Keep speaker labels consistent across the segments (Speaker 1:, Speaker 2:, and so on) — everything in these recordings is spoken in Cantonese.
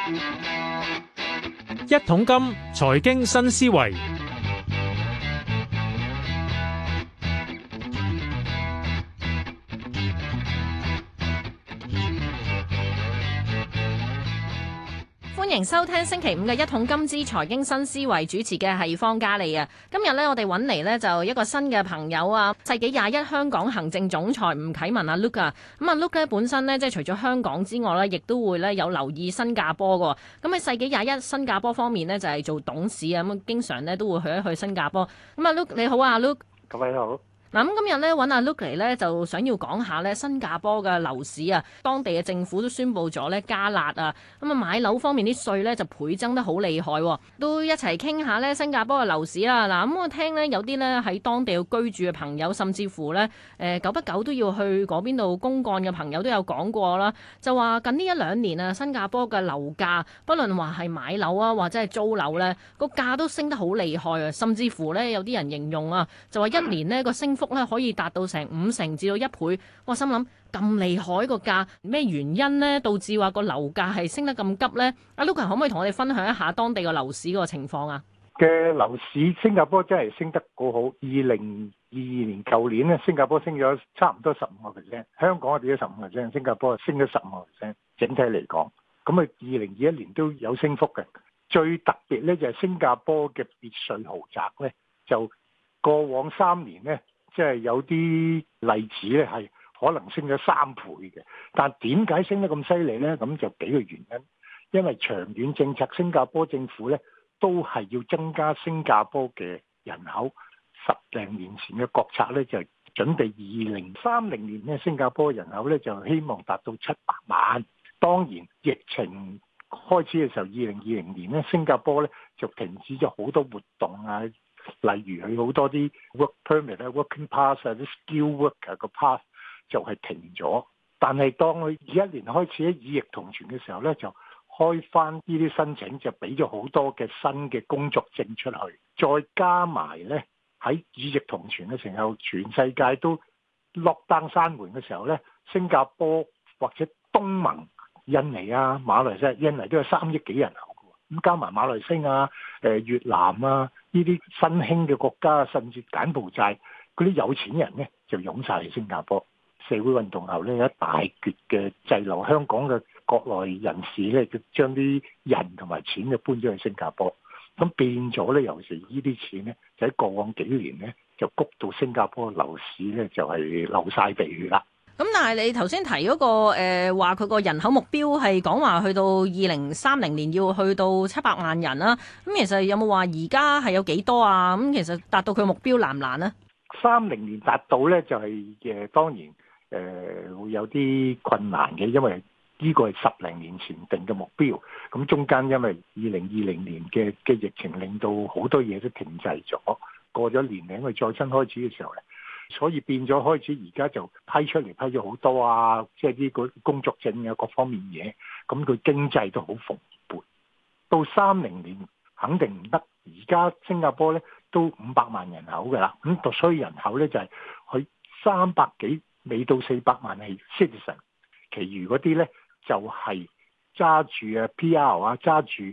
Speaker 1: 一桶金財經新思維，
Speaker 2: 歡迎收聽星期五嘅一桶金之財經新思維，主持嘅係方嘉莉啊。今日咧，我哋揾嚟咧就一個新嘅朋友啊，世紀21香港行政總裁吳啟文啊 Luke 啊。咁啊 Luke 咧本身咧即係除咗香港之外咧，亦都會咧有留意新加坡嘅。咁喺世紀21新加坡方面咧就係做董事啊，咁經常咧都會去一去新加坡。咁啊 Luke 你好啊 Luke。
Speaker 3: 各位好。
Speaker 2: 嗱，咁今日咧揾阿 Luke 嚟咧，就想要講下咧新加坡嘅樓市啊，當地嘅政府都宣布咗咧加辣啊，咁啊買樓方面啲稅咧就倍增得好厲害，都一齊傾下咧新加坡嘅樓市啦。嗱，咁我聽咧有啲咧喺當地居住嘅朋友，甚至乎咧久不久都要去嗰邊度公幹嘅朋友都有講過啦，就話近呢一兩年啊，新加坡嘅樓價，不論話係買樓啊或者係租樓咧，個價都升得好厲害啊，甚至乎咧有啲人形容啊，就話一年呢個升幅咧可以達到成50%至到1倍，我心諗咁厲害個價，咩原因呢？導致話個樓價係升得咁急呢？阿 Luke 可唔可以同我哋分享一下當地個樓市個情況啊？
Speaker 3: 嘅樓市新加坡真係升得好好，2022年舊年咧，新加坡升咗差唔多15%，香港我哋都15%，新加坡升咗15%，整體嚟講，咁啊2021年都有升幅嘅。最特別咧就係新加坡嘅別墅豪宅咧，就過往3年咧。即係有啲例子咧，係可能升咗3倍嘅。但點解升得咁犀利呢？咁就幾個原因。因為長遠政策，新加坡政府咧都係要增加新加坡嘅人口。10多年前嘅國策咧就準備2030年咧，新加坡人口咧就希望達到700萬。當然疫情開始嘅時候，2020年咧，新加坡咧就停止咗好多活動啊。例如佢好多啲 work permit 啊、working pass 啊、啲 skill worker 個 pass 就係停咗。但係當佢21年開始咧以疫同存嘅時候咧，就開翻呢啲申請，就俾咗好多嘅新嘅工作證出去。再加埋咧喺以疫同存嘅時候，全世界都 lock down 閂門嘅時候咧，新加坡或者東盟、印尼啊、馬來西亞、印尼都有3億幾人口。咁加埋馬來西亞、越南啊，呢啲新興嘅國家，甚至柬埔寨嗰啲有錢人呢，就湧晒嚟新加坡。社會運動後呢，有一大橛嘅滯留香港嘅國內人士呢，就將啲人同埋錢就搬咗去新加坡。咁變咗呢，尤其是呢啲錢呢，就喺過往幾年呢，就谷到新加坡樓市呢，就係流晒地血啦。
Speaker 2: 咁但係你頭先提嗰個話佢個人口目標係講話去到2030年要去到700萬人啦。咁其實有冇話而家係有幾多啊？咁其實達到佢目標難唔難呢
Speaker 3: ？30年達到咧就係當然會有啲困難嘅，因為呢個係10多年前定嘅目標。咁中間因為2020年嘅疫情令到好多嘢都停滯咗，過咗年零佢再新開始嘅時候咧。所以變咗開始而家就批出嚟批咗好多啊，即係呢個工作證啊各方面嘢，咁佢經濟都好蓬勃。到30年肯定唔得，而家新加坡咧都500萬人口㗎啦，咁所以人口咧就係佢300幾未到400萬係 citizen， 其餘嗰啲咧就係揸住啊 PR 啊，揸住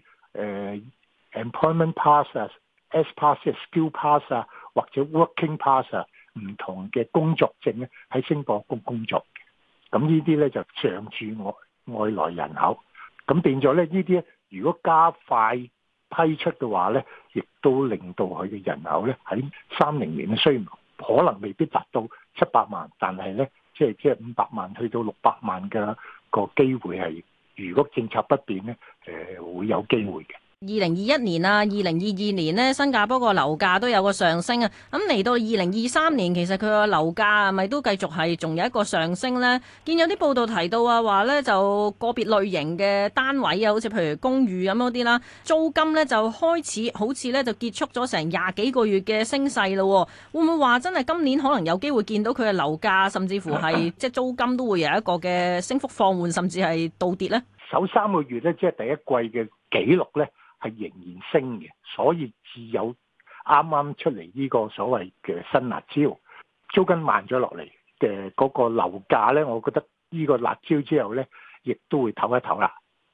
Speaker 3: employment pass 啊、S pass 啊、skill pass 啊或者 working pass 啊。唔同嘅工作證咧喺新加坡工作嘅，咁呢啲咧就常住外來人口，咁變咗咧呢啲如果加快批出嘅話咧，亦都令到佢嘅人口咧喺30年咧雖然可能未必達到700萬，但係咧即係500萬去到600萬嘅個機會係，如果政策不變咧，會有機會嘅。
Speaker 2: 2021年啊，2022年呢，新加坡個樓價都有個上升啊。咁嚟到2023年，其實佢個樓價係咪都繼續係仲有一個上升呢？見有啲報道提到啊，話呢就個別類型嘅單位啊，好似譬如公寓咁嗰啲啦，租金呢就開始好似呢就結束咗成20幾個月嘅升勢咯。會唔會話真係今年可能有機會見到佢嘅樓價，甚至乎係即係租金都會有一個嘅升幅放緩，甚至係倒跌呢？
Speaker 3: 首3個月呢，即係第一季嘅紀錄呢，係仍然升嘅，所以只有啱啱出嚟呢個所謂嘅新辣招，租金慢咗落嚟嘅嗰個樓價呢，我覺得呢個辣招之後呢，亦都會唞一唞啦。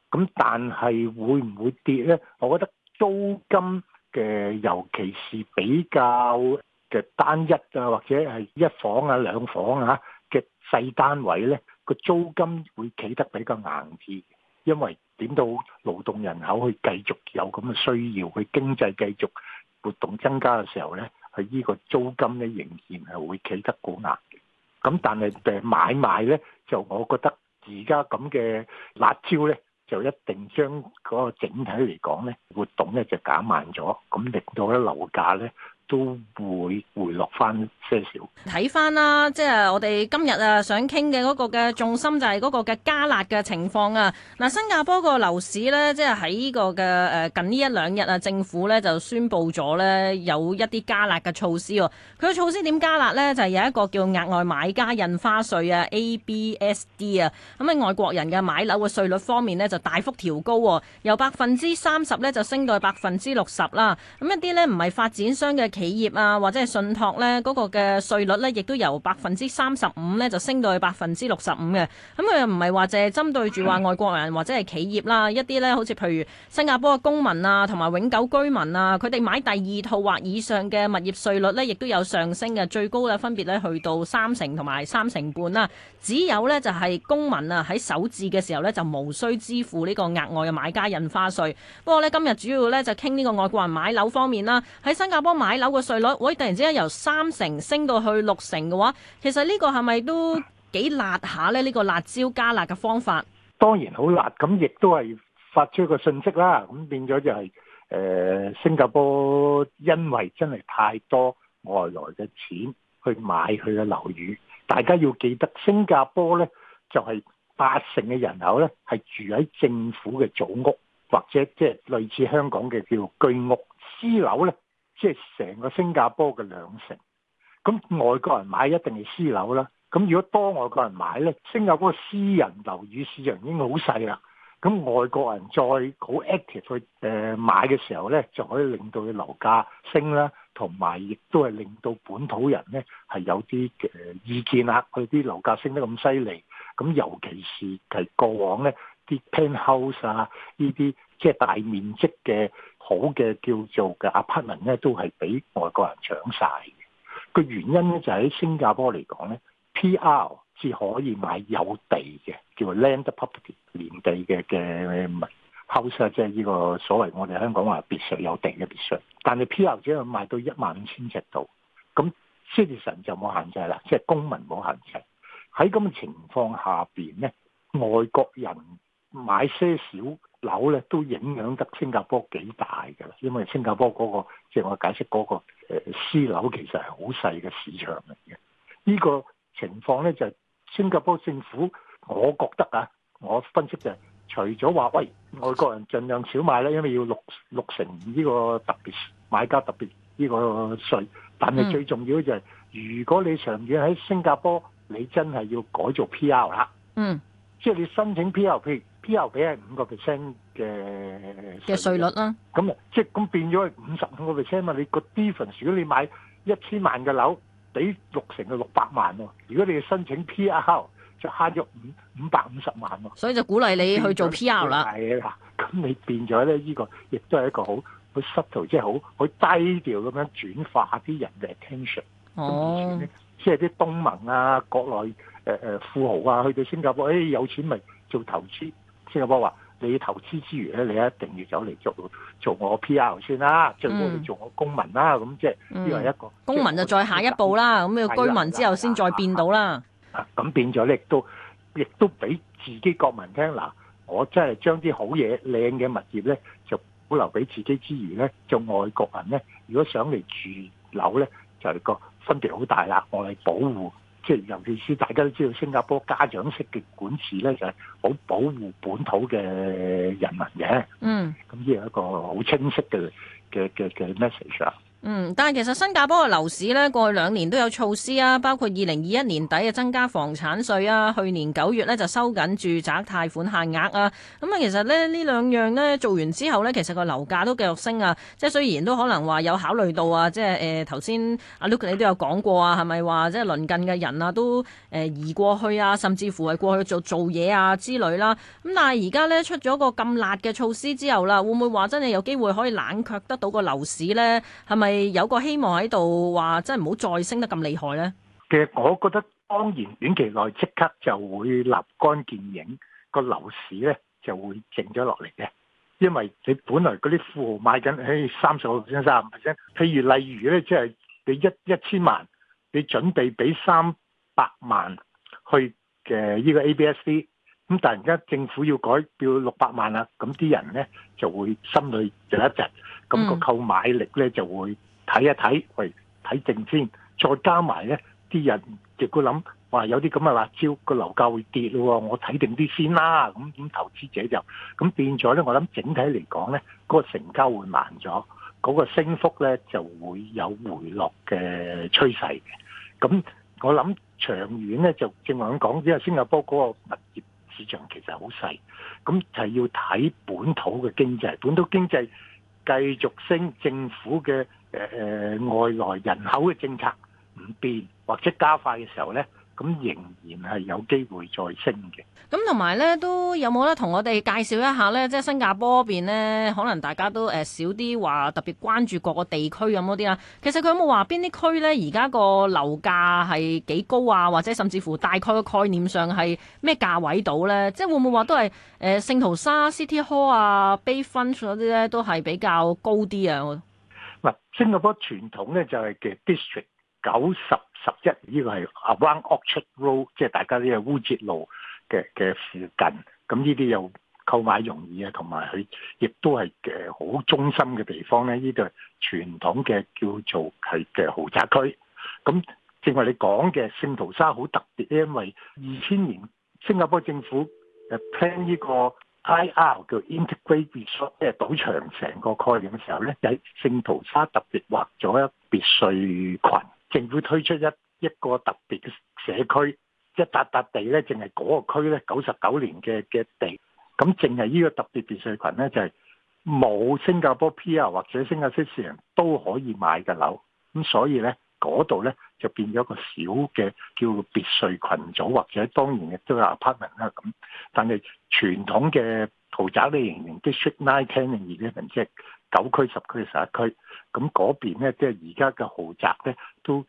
Speaker 3: 咁但係會唔會跌呢？我覺得租金嘅，尤其是比較嘅單一啊，或者係一房啊、兩房啊嘅細單位呢，個租金會企得比較硬啲，因為點到勞動人口去繼續有咁嘅需要，去經濟繼續活動增加嘅時候呢，係呢個租金呢仍然係會企得好硬嘅。咁但係買賣呢，就我覺得而家咁嘅辣招呢，就一定將嗰個整體嚟講呢，活動呢就減慢咗，咁令到咧樓價呢都會回落翻些少。
Speaker 2: 睇翻啦，即係我哋今日想傾嘅嗰個嘅重心就係嗰個嘅加辣嘅情況啊。嗱，新加坡個樓市呢，即係喺呢個嘅近呢一兩日啊，政府呢就宣布咗呢有一啲加辣嘅措施喎。佢嘅措施點加辣呢？就係有一個叫額外買家印花稅啊 （ABSD） 啊。咁喺外國人嘅買樓嘅稅率方面呢，就大幅調高，由30%呢就升到60%啦。咁一啲呢唔係發展商嘅企業啊，或者係信託呢嗰個嘅稅率呢，亦都由35%呢就升到去65%嘅。咁佢又唔係話淨係針對住話外國人或者係企業啦，一啲呢好似譬如新加坡嘅公民啊，同埋永久居民啊，佢哋買第二套或以上嘅物業稅率呢，亦都有上升嘅，最高呢分別呢去到30%同埋3.5%啦。只有呢就係公民啊喺首置嘅時候呢，就無需支付呢個額外嘅買家印花稅。不過呢，今日主要呢就傾呢個外國人買樓方面啦，喺新加坡買樓嘅稅率，突然之間由3%升到去6%嘅話，其實呢個係咪都幾辣下呢？呢個辣椒加辣嘅方法，
Speaker 3: 當然好辣，咁亦都係發出一個訊息啦。咁變咗就係新加坡因為真係太多外來嘅錢去買佢嘅樓宇，大家要記得新加坡呢就係80%嘅人口呢係住喺政府嘅組屋，或者即係類似香港嘅叫居屋。私樓呢即係成個新加坡嘅2成。咁外國人買一定係私樓啦。咁如果多外國人買呢，新加坡私人樓宇市場已經好細啦。咁外國人再好 active 去買嘅時候呢，就可以令到佢樓價升啦，同埋亦都係令到本土人呢係有啲意見啦。佢啲樓價升得咁犀利，咁尤其是係過往呢啲 penthouse 啊，呢啲即係大面積嘅好嘅叫做嘅 apartment 呢，都係俾外國人搶晒嘅。個原因呢，就喺新加坡嚟講呢， PR 至可以買有地嘅，叫做 land property 連地嘅house， 即係呢個所謂我哋香港話別墅，有地嘅別墅。但係 PR 只係賣到15,000尺度，咁 citizen 就冇限制啦，即係公民冇限制。喺咁嘅情況下邊呢，外國人買些少樓咧，都影響得新加坡幾大㗎啦。因為新加坡嗰個即係我解釋嗰個私樓其實係好細嘅市場嚟嘅。呢個情況咧就係新加坡政府，我覺得啊，我分析就係除咗話喂外國人盡量少買咧，因為要六成呢個特別買家特別呢個稅，但係最重要就係如果你長遠喺新加坡，你真係要改做 PR 啦。即係你申請 PR， 譬如 PR 俾係5% 嘅
Speaker 2: 稅率啦。
Speaker 3: 咁啊，即係咁變咗係55% 嘛。你個 difference， 如果你買1000萬嘅樓，俾6成嘅600萬喎。如果你申請 PR， 就慳咗550萬喎。所
Speaker 2: 以就鼓勵你去做 PR 啦。
Speaker 3: 係啦，咁你變咗咧，呢個亦都係一個好 subtle， 即係好低調咁樣轉化啲人嘅 attention。咁以前咧，即係啲東盟啊、國內富豪啊，去到新加坡，有錢咪做投資。新加坡話：你投資之餘咧，你一定要走嚟做我 PR 先啦，最好你做我公民啦。咁即係呢個係一個
Speaker 2: 公民就再下一步啦。咁要居民之後先再變到啦。
Speaker 3: 咁變咗咧，亦都俾自己國民聽嗱，我真係將啲好嘢、靚嘅物業咧，就保留俾自己之餘咧，就外國人咧，如果想嚟住樓咧，就係個分別好大啦。我嚟保護。即係尤其是大家都知道，新加坡家長式嘅管治咧，就係好保護本土嘅人民嘅。咁呢係一個好清晰嘅 message 啊。
Speaker 2: 但係其實新加坡嘅樓市呢，過去2年都有措施啊，包括2021年底嘅增加房產稅啊，去年9月呢就收緊住宅貸款限額啊。咁啊，其實呢兩樣呢做完之後呢，其實個樓價都繼續升啊。即係雖然都可能話有考慮到啊，即係頭先阿 Luke 你都有講過啊，係咪話即係鄰近嘅人啊都移過去啊，甚至乎係過去做嘢啊之類啦。咁但係而家呢，出咗個咁辣嘅措施之後啦，會唔會話真係有機會可以冷卻得到個樓市呢？係咪有個希望喺度話，真係唔好再升得咁厲害呢？
Speaker 3: 其實我覺得當然短期內即刻就會立竿見影，個樓市咧就會靜咗落嚟嘅。因為你本來嗰啲富豪買緊30%、35%，譬如例如咧，即係你一千萬，你準備俾300萬去嘅呢個 ABSD， 咁突然間政府要改叫600萬啦，咁啲人咧就會心裏就一窒，咁個購買力咧就會睇一睇，喂，睇定先，再加埋咧啲人亦會諗，話有啲咁嘅辣椒，個樓價會跌咯，我睇定啲先啦。咁投資者就咁變咗咧，我諗整體嚟講咧，嗰個成交會慢咗，嗰個升幅咧就會有回落嘅趨勢嘅。咁我諗長遠咧就正話咁講，因為新加坡嗰個物業市場其實好細，咁就係要睇本土嘅經濟，本土經濟繼續升，政府嘅外來人口嘅政策唔變或者加快嘅時候呢，咁仍然係有機會再升嘅。
Speaker 2: 咁同埋呢，都有冇得同我哋介紹一下呢？即係新加坡嗰邊呢，可能大家都少啲話特別關注各個地區咁嗰啲啦。其實佢有冇話邊啲區呢？而家個樓價係幾高啊？或者甚至乎大概個概念上係咩價位到呢？即係會唔會話都係聖淘沙、City Hall 啊、Bayfront 嗰啲呢，都係比較高啲啊？
Speaker 3: 嗱，新加坡傳統呢就係嘅 district 90、11呢個係 Around Orchard Road， 即係大家呢個烏節路嘅附近，咁呢啲又購買容易啊，同埋佢亦都係好中心嘅地方咧。呢度係傳統嘅叫做係嘅豪宅區。咁正話你講嘅聖淘沙好特別，因為2000年新加坡政府plan 呢個 IR 叫 Integrated Resort， 即係賭場成個概念嘅時候咧，喺聖淘沙特別劃咗一別墅群，政府推出一個特別嘅社區。一笪地咧，淨係嗰個區咧，99年嘅地，咁淨係呢個特別別墅群咧，就係冇新加坡 PR 或者新加坡市人都可以買嘅樓，咁所以咧嗰度咧就變咗個小嘅叫別墅群組，或者當然亦都有 apartment 啦咁，但係傳統嘅豪宅咧仍然 District 9、10、11，即係9區、10區、11區，咁嗰邊咧即係而家嘅豪宅咧都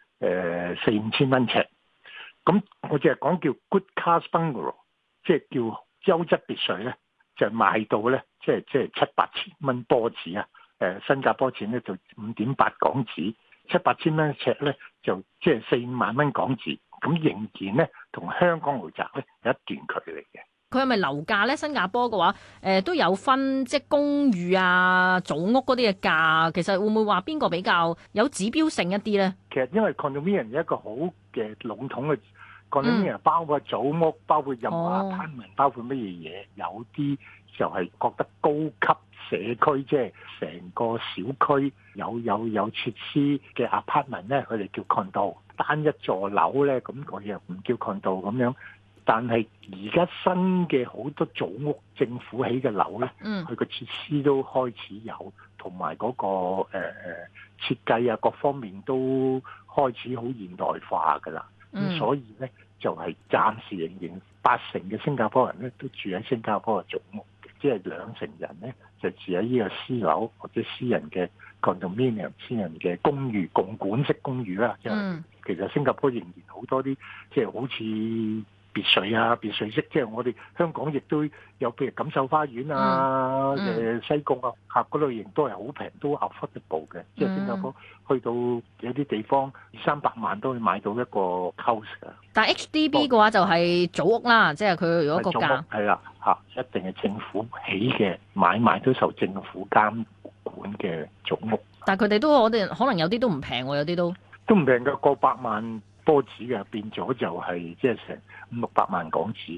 Speaker 3: 4-5千蚊尺。咁我淨係講叫 Good Class Bungalow， 即係叫優質別墅咧，就賣到咧，即係7-8千蚊波子啊！新加坡錢咧就5.8港紙，7-8千蚊尺咧就即係4-5萬蚊港紙，咁仍然咧同香港豪宅咧有一段距離嘅。
Speaker 2: 佢係咪樓價咧？新加坡嘅話，都有分即係公寓啊、組屋嗰啲嘅價，其實會唔會話邊個比較有指標性一啲咧？
Speaker 3: 其實因為 condominium 有一個好嘅籠統嘅 condominium，包括組屋，包括任何 apartment，包括乜嘢嘢，有啲就係覺得高級社區，即係成個小區有設施嘅 apartment 咧，佢哋叫 condo， 單一座樓咧，咁我又唔叫 condo 咁樣。但係而家新嘅好多組屋，政府起嘅樓咧，佢個設施都開始有，同埋嗰個設計啊，各方面都開始好現代化㗎啦。咁所以咧，就係暫時仍然80%嘅新加坡人咧都住喺新加坡嘅組屋，即係20%人咧就住喺呢個私樓或者私人嘅 condominium、私人嘅公寓、共管式公寓啦。即係其實新加坡仍然好多啲，即係好似別墅啊、別墅式，即係我哋香港亦都有，譬如錦繡花園啊、西貢啊，嗰類型都係好平，都 affordable 嘅。即係新加坡去到有啲地方200-300萬都可以買到一個 house 㗎。
Speaker 2: 但係 HDB 嘅話就係組屋啦，即係佢如果個價
Speaker 3: 係啦一定係政府起嘅，買賣都受政府監管嘅組屋。
Speaker 2: 但係佢哋都我哋可能有啲都唔平喎，有啲都
Speaker 3: 唔平㗎，過百萬波子嘅，變咗就係即係成500-600萬港紙嘅，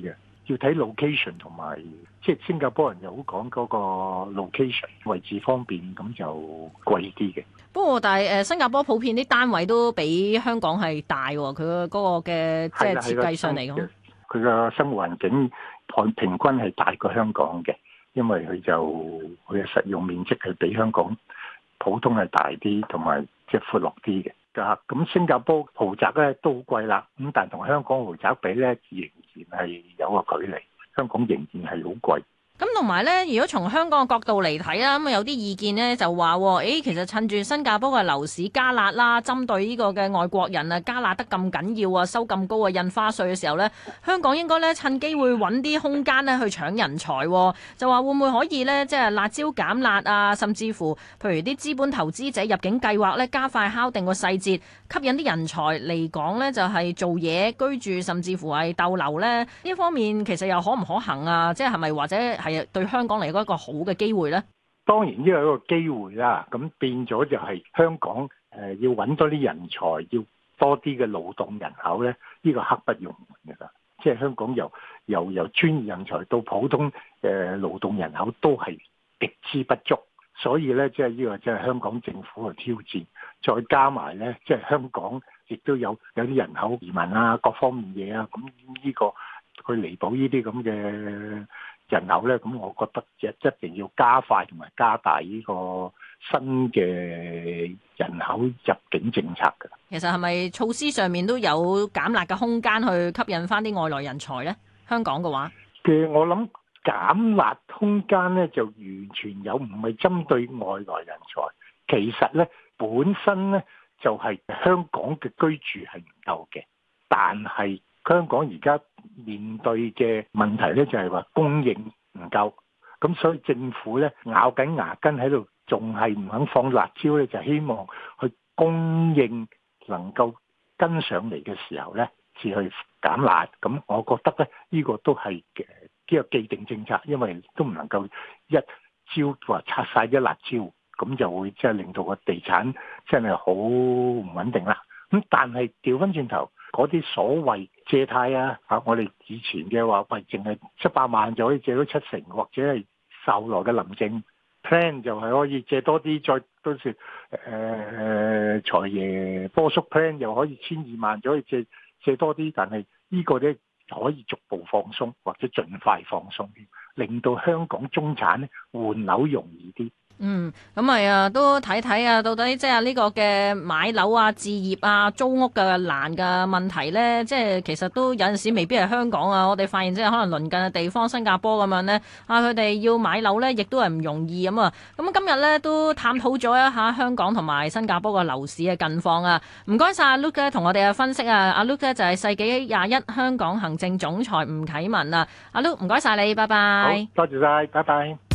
Speaker 3: 要睇 location 同埋，即係新加坡人又好講嗰個 location 位置方便，咁就貴啲嘅。
Speaker 2: 不過但係新加坡普遍啲單位都比香港係大喎，佢嗰個嘅即係設計上嚟講，
Speaker 3: 佢個生活環境平均係大過香港嘅，因為佢嘅實用面積係比香港普通係大啲，同埋即係闊落啲嘅。咁新加坡豪宅咧都好貴啦，咁但係同香港豪宅比咧，仍然係有個距離。香港仍然係好貴。
Speaker 2: 咁同埋咧，如果從香港嘅角度嚟睇啦，咁有啲意見咧就話，其實趁住新加坡嘅樓市加辣啦，針對呢個嘅外國人啊加辣得咁緊要啊，收咁高嘅印花稅嘅時候咧，香港應該咧趁機會揾啲空間咧去搶人才，就話會唔會可以咧即係辣椒減辣啊，甚至乎譬如啲資本投資者入境計劃咧加快敲定個細節，吸引啲人才嚟講咧就係做嘢居住，甚至乎係逗留咧呢方面，其實又可唔可行啊？即係咪或者係對香港嚟講一個好嘅機會呢？
Speaker 3: 當然呢個係一個機會啦，咁變咗就係香港要揾多啲人才，要多啲嘅勞動人口呢，呢個刻不容緩㗎啦。即係香港由專業人才到普通勞動人口都係極之不足，所以呢，即係呢個即係香港政府嘅挑戰，再加埋呢，即係香港亦都有啲人口移民啊，各方面嘢啊，咁呢個去彌補呢啲咁嘅人口咧，咁我覺得一定要加快同埋加大呢個新嘅人口入境政策嘅。
Speaker 2: 其實係咪措施上面都有減辣嘅空間去吸引翻啲外來人才咧？香港嘅話，
Speaker 3: 我諗減辣空間咧就完全有，唔係針對外來人才。其實咧本身咧就係香港嘅居住係唔夠嘅，但係香港而家面對嘅問題咧就係話供應唔夠，咁所以政府咧咬緊牙根喺度，仲係唔肯放辣椒咧，就希望去供應能夠跟上嚟嘅時候咧，至去減辣。咁我覺得咧呢個都係呢個既定政策，因為都唔能夠一招話拆晒啲辣椒，咁就會即係令到個地產真係好唔穩定啦。咁但係調翻轉頭，嗰啲所謂借貸啊，我哋以前嘅話，喂，淨係700萬就可以借到70%，或者係後來嘅林鄭 plan 就係可以借多啲，再到時財爺波叔 plan 又可以12萬就可以借多啲，但係呢個咧可以逐步放鬆，或者盡快放鬆，令到香港中產咧換樓容易啲。
Speaker 2: 咁咪都睇睇啊，到底即係呢個嘅買樓啊、置業啊、租屋嘅難嘅問題呢，即係其實都有陣時未必係香港啊。我哋發現即係可能鄰近嘅地方，新加坡咁樣呢，佢哋要買樓呢，亦都係唔容易咁啊。咁今日呢，都探討咗一下香港同埋新加坡嘅樓市嘅近況啊。唔該晒阿 Luke 同我哋嘅分析啊。阿 Luke 就係世紀21香港行政總裁吳啟文啊。阿 Luke 唔該晒你，拜拜。
Speaker 3: 好，多謝晒，拜拜。